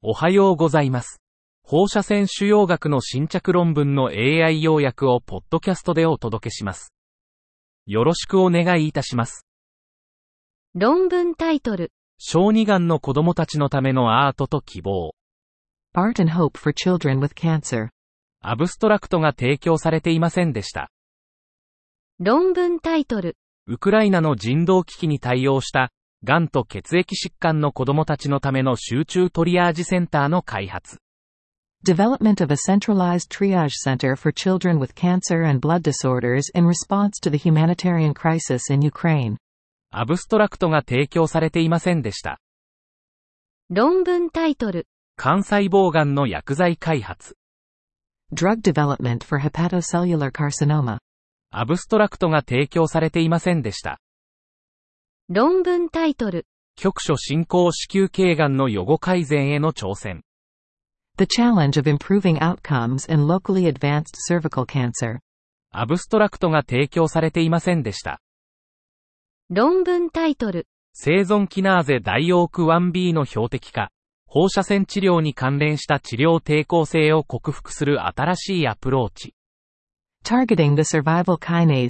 おはようございます。放射線腫瘍学の新着論文の AI 要約をポッドキャストでお届けします。よろしくお願いいたします。 論文タイトル。 小児がんの子供たちのためのアートと希望。 Art and Hope for Children with Cancer。 アブストラクトが提供されていませんでした。 論文タイトル。 ウクライナの人道危機に対応した、がんと血液疾患の子供たちのための集中トリアージセンターの開発。 Development of a centralized triage center for children with cancer and blood disorders in response to the humanitarian crisis in Ukraine。 アブストラクトが提供されていませんでした。 論文タイトル。 肝細胞がんの薬剤開発。 Drug development for hepatocellular carcinoma。 アブストラクトが提供されていませんでした。 論文タイトル。 局所進行子宮頸がんの予後改善への挑戦。 The challenge of improving outcomes in locally advanced cervical cancer。 アブストラクトが提供されていませんでした。 論文タイトル。 生存キナーゼダイオーク 1B の標的化。放射線治療に関連した治療抵抗性を克服する新しいアプローチ。 Targeting the survival kinase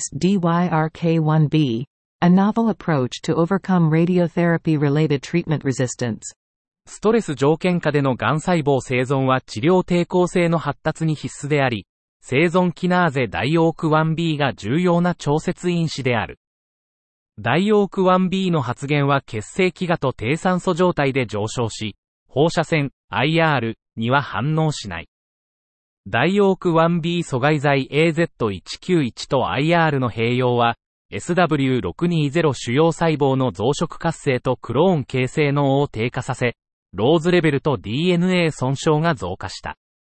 DYRK1B。A novel approach to overcome radiotherapy-related treatment resistance。 ストレス条件下でのがん細胞生存は治療抵抗性の発達に必須であり、生存キナーゼダイオーク 1B が重要な調節因子である。ダイオーク 1B の発現は血清飢餓と低酸素状態で上昇し、放射線 IR には反応しない。ダイオーク 1B 阻害剤 AZ191 と IR の併用は、SW620 腫瘍細胞の増殖活性とクローン形成能を低下させ、ローズレベルと DNA 損傷が増加した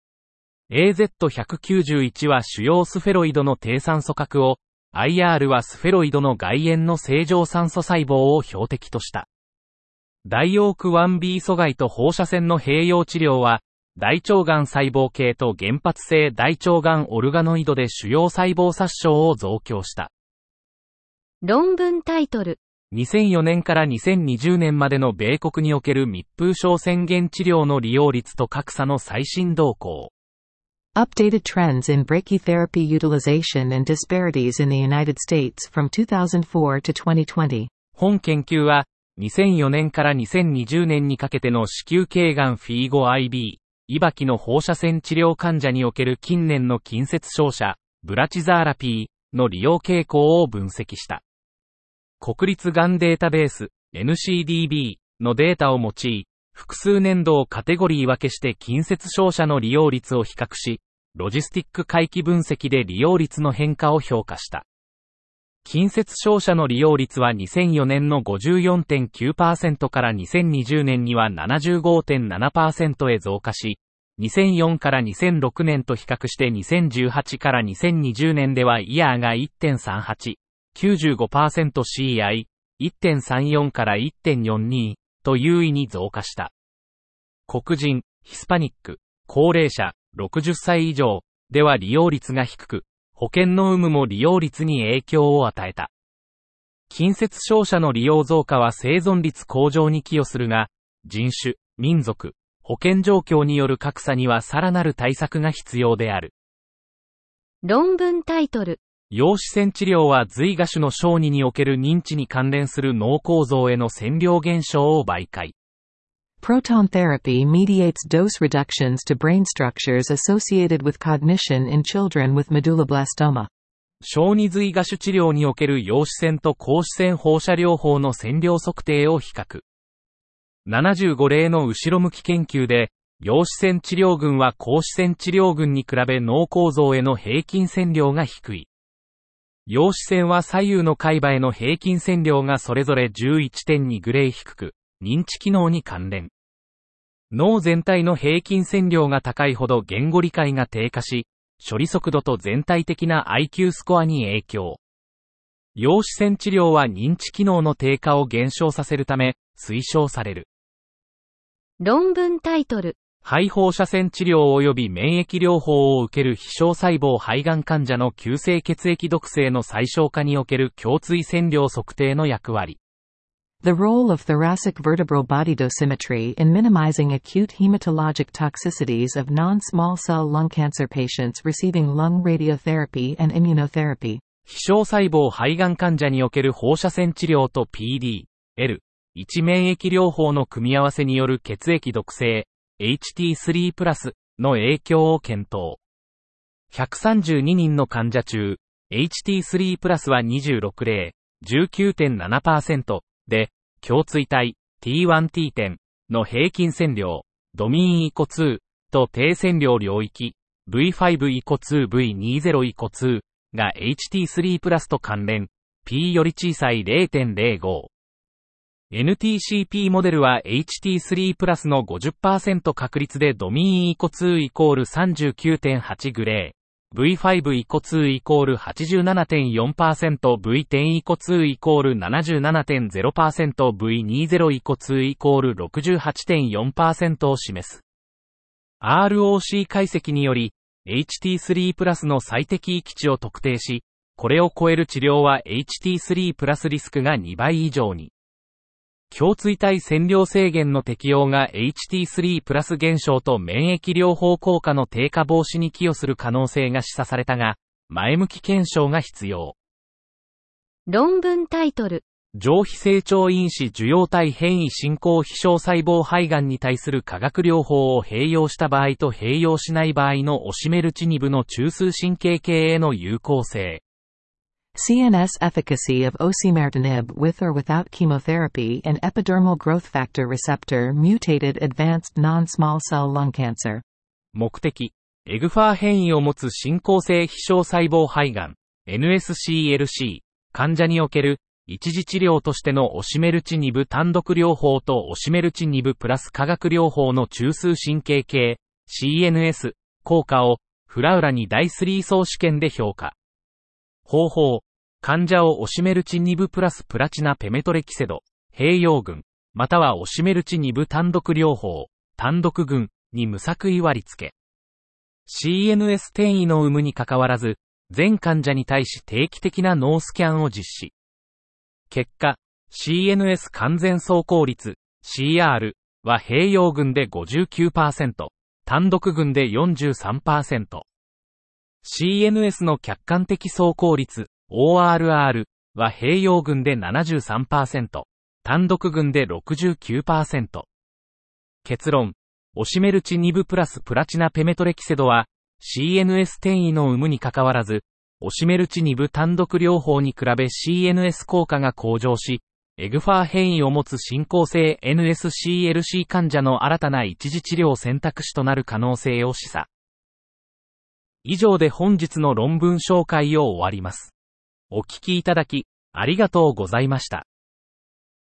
。AZ191 は腫瘍スフェロイドの低酸素核を、IR はスフェロイドの外縁の正常酸素細胞を標的とした。ダイオーク 1B 阻害と放射線の併用治療は、大腸がん細胞系と原発性大腸がんオルガノイドで腫瘍細胞殺傷を増強した。 論文タイトル。 2004年から2020年までの米国における密封症宣言治療の利用率と格差の最新動向。 Updated trends in brachytherapy utilization and disparities in the United States from 2004 to 2020。 本研究は、2004年から2020年にかけての子宮頸がんフィーゴ IB、イバキの放射線治療患者における近年の近接照射、ブラチザーラピーの利用傾向を分析した。国立がんデータベース NCDB のデータを用い、複数年度をカテゴリー分けして近接照射の利用率を比較し、ロジスティック回帰分析で利用率の変化を評価した。近接照射の利用率は2004年の 54.9% から2020年には 75.7% へ増加し、2004から2006年と比較して2018から2020年ではイヤーが 1.38、95% CI、1.34 から 1.42 と優位に増加した。黒人、ヒスパニック、高齢者、60歳以上では利用率が低く、保険の有無も利用率に影響を与えた。近接照射の利用増加は生存率向上に寄与するが、人種、民族、保険状況による格差にはさらなる対策が必要である。 論文タイトル。 陽子線治療は髄芽腫の小児における認知に関連する脳構造への線量減少を媒介。 Proton therapy mediates dose reductions to brain structures associated with cognition in children with medulloblastoma。 小児髄芽腫治療における陽子線と光子線放射療法の線量測定を比較。75例の後ろ向き研究で、陽子線治療群は光子線治療群に比べ脳構造への平均線量が低い。陽子線は左右の海馬への平均線量がそれぞれ 11.2 グレー低く、認知機能に関連。脳全体の平均線量が高いほど言語理解が低下し、処理速度と全体的な IQ スコアに影響。陽子線治療は認知機能の低下を減少させるため、推奨される。 論文タイトル。 肺放射線治療及び免疫療法を受ける非小細胞肺がん患者の急性血液毒性の最小化における胸椎線量測定の役割。 The role of thoracic vertebral body dosimetry in minimizing acute hematologic toxicities of non-small cell lung cancer patients receiving lung radiotherapy and immunotherapy. 非小細胞肺がん患者における放射線治療と PD-L1 免疫療法の組み合わせによる血液毒性 HT3+の影響を検討。132人の患者中、HT3+ は26例、19.7% で、胸椎体 T1T 点の平均線量、ドミンイコ2と低線量領域 V5 イコ2 V20 イコ2が HT3+ と関連、P より小さい 0.05。NTCP モデルは HT3+ の 50% 確率でドミンイコ2イコール 39.8 グレー。V5 イコ2イコール 87.4%、V10 イコ2イコール 77.0%、V20 イコ2イコール 68.4% を示す。ROC 解析により、HT3+ の最適域値を特定し、これを超える治療は HT3+ リスクが2倍以上に。胸椎体線量制限の適用が HT3+ 減少と免疫療法効果の低下防止に寄与する可能性が示唆されたが、前向き検証が必要。 論文タイトル。 上皮成長因子受容体変異進行非小細胞肺がんに対する化学療法を併用した場合と併用しない場合のオシメルチニブの中枢神経系への有効性。 CNS efficacy of osimertinib with or without chemotherapy in epidermal growth factor receptor mutated advanced non-small cell lung cancer。 目的、エグファー変異を持つ進行性非小細胞肺がん、NSCLC、患者における一時治療としてのオシメルチニブ単独療法とオシメルチニブプラス化学療法の中枢神経系、CNS、効果をフラウラに第3相試験で評価。方法、患者をオシメルチニブプラスプラチナペメトレキセド、併用群、またはオシメルチニブ単独療法、単独群に無作為割り付け。CNS 転移の有無にかかわらず、全患者に対し定期的な脳スキャンを実施。結果、CNS 完全走行率、CR は併用群で 59%、単独群で 43%。CNS の客観的走行率、ORR は併用群で 73%、単独群で 69%。結論、オシメルチニブプラスプラチナペメトレキセドは、CNS 転移の有無にかかわらず、オシメルチニブ単独療法に比べ CNS 効果が向上し、エグファー変異を持つ進行性 NSCLC 患者の新たな一時治療選択肢となる可能性を示唆。以上で本日の論文紹介を終わります。お聞きいただき、ありがとうございました。